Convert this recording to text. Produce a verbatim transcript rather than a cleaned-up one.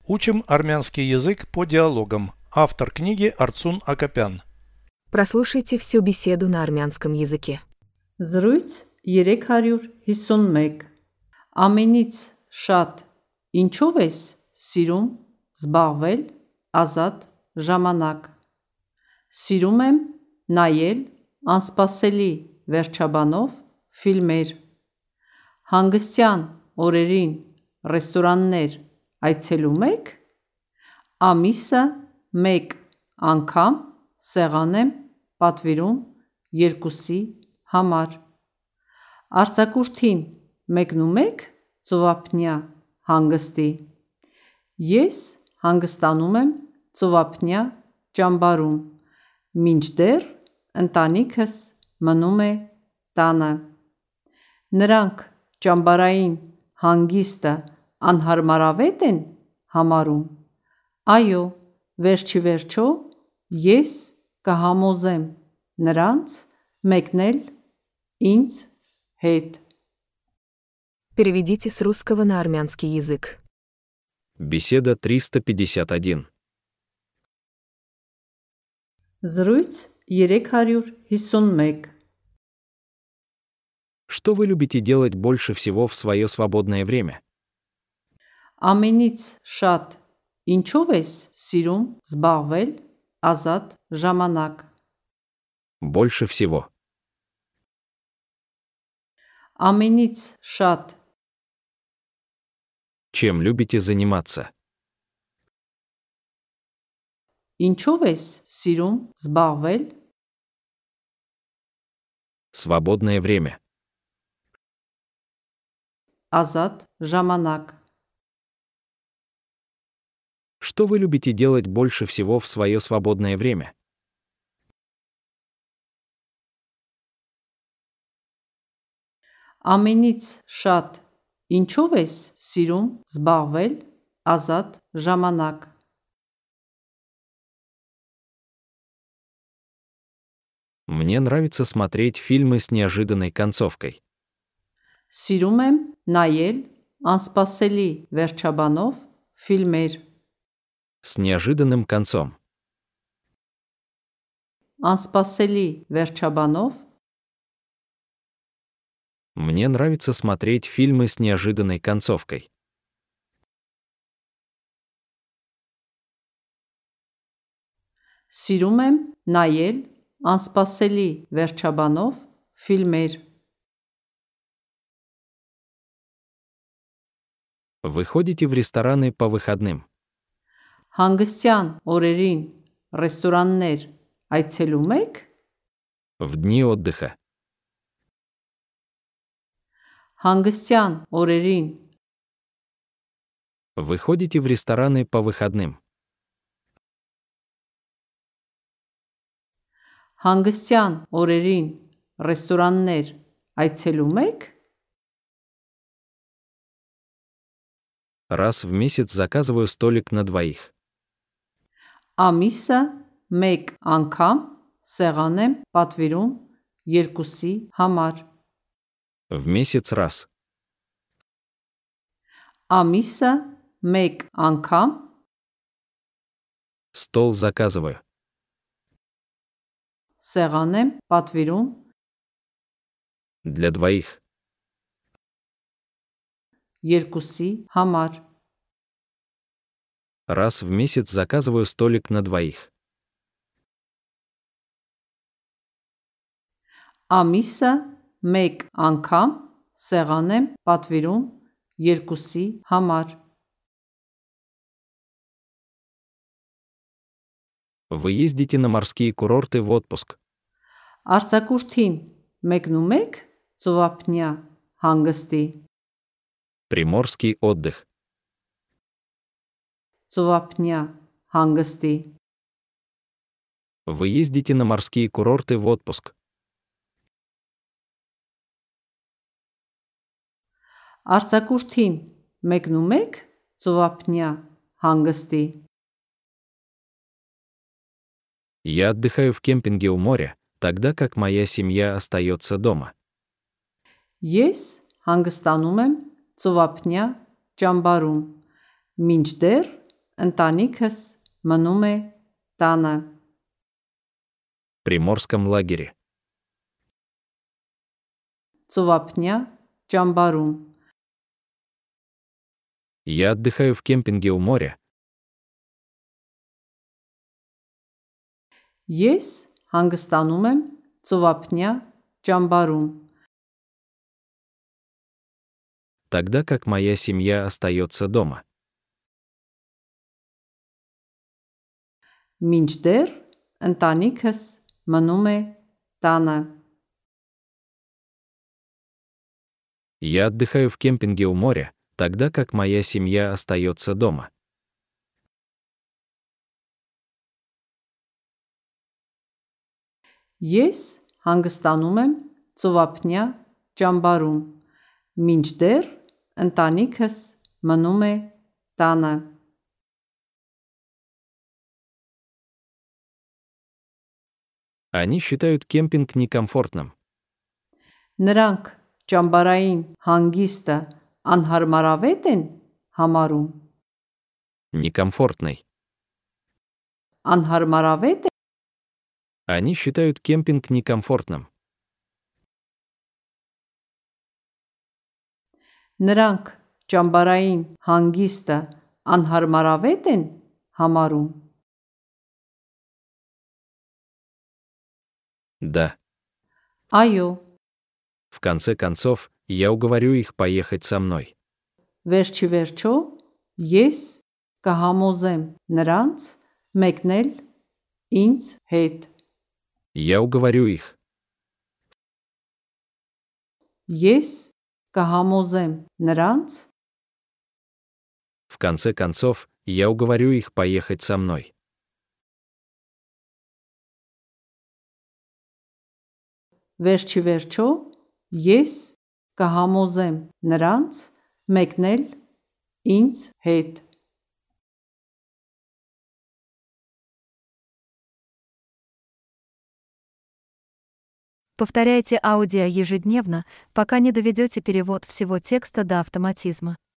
Учим армянский язык по диалогам. Автор книги Арцун Акопян. Прослушайте всю беседу на армянском языке. Զրույց երեք հարյուր հիսունմեկ Ամենից շատ ինչով ես սիրում զբաղվել ազատ ժամանակ։ Սիրում եմ նայել անսպասելի վերջաբանով ֆիլմեր։ Հանգստյան օրերին ռեստորաններ այցելում եք։ Ամիսը մեկ անգամ սեղան եմ պատվիրում երկուսի համար։ Արձակուրդին մեկնում եք ծովափնյա հանգստի։ Ես հանգստանում եմ ծովափնյա ճամբարում, մինչդեռ ընտանիքս մնում է տանը։ Նրանք ճամբարային հանգիստը անհարմարավետ են համարում։ Այո, վերջիվերջո ես կհամոզեմ նրանց մեկնել ինձ հետ։ Переведите с русского на армянский язык. Беседа триста пятьдесят один. Զրույց երեք հարյուր հիսունմեկ Что вы любите делать больше всего в свое свободное время? Ամենից շատ ինչով ես սիրում զբաղվել ազատ ժամանակ։ Больше всего. Ամենից շատ Чем любите заниматься? ինչով ես սիրում զբաղվել Свободное время. ազատ ժամանակ։ Что вы любите делать больше всего в свое свободное время? Ամենից շատ ինչով ես սիրում զբաղվել ազատ ժամանակ։ Мне нравится смотреть фильмы с неожиданной концовкой. Սիրում եմ նայել անսպասելի վերջաբանով ֆիլմեր։ С неожиданным концом. Անսպասելի վերջաբանով Мне нравится смотреть фильмы с неожиданной концовкой. Սիրում եմ նայել անսպասելի վերջաբանով ֆիլմեր։ Вы ходите в рестораны по выходным? Հանգստյան օրերին ռեստորաններ այցելում եք։ В дни отдыха. Հանգստյան օրերին Вы ходите в рестораны по выходным? Հանգստյան օրերին ռեստորաններ այցելում եք։ Раз в месяц заказываю столик на двоих. Ամիսը մեկ անգամ սեղան եմ պատվիրում երկուսի համար։ В месяц раз. Ամիսը մեկ անգամ Стол заказываю. սեղան եմ պատվիրում Для двоих. երկուսի համար։ Раз в месяц заказываю столик на двоих. Ամիսը մեկ անգամ սեղան եմ պատվիրում երկուսի համար։ Вы ездите на морские курорты в отпуск? Արձակուրդին մեկնում եք ծովափնյա հանգստի։ Приморский отдых. Ծովափնյա հանգստի։ Вы ездите на морские курорты в отпуск? Արձակուրդին մեկնում եք ծովափնյա հանգստի։ Я отдыхаю в кемпинге у моря, тогда как моя семья остается дома. Ես հանգստանում եմ ծովափնյա ճամբարում, մինչդեռ ընտանիքս մնում է տանը։ В Приморском лагере. Ծովափնյա ճամբարում։ Я отдыхаю в кемпинге у моря. Ես հանգստանում եմ ծովափնյա ճամբարում, Тогда как моя семья остается дома. մինչդեռ ընտանիքս մնում է տանը։ Я отдыхаю в кемпинге у моря, тогда как моя семья остается дома. Ես հանգստանում եմ ծովափնյա ճամբարում, մինչդեռ ընտանիքս մնում է տանը։ Они считают кемпинг некомфортным. Նրանք ճամբարային հանգիստը անհարմարավետ են համարում, Некомфортный. անհարմարավետ է, Они считают кемпинг некомфортным. նրանք ճամբարային հանգիստը անհարմարավետ են համարում, Да. այո, В конце концов, я уговорю их поехать со мной. վերջի վերջո ես կհամոզեմ նրանց մեկնել ինձ հետ, Я уговорю их. ես կհամոզեմ նրանց В конце концов, я уговорю их поехать со мной. վերջի վերջո ես կհամոզեմ նրանց մեկնել ինձ հետ։ Повторяйте аудио ежедневно, пока не доведете перевод всего текста до автоматизма.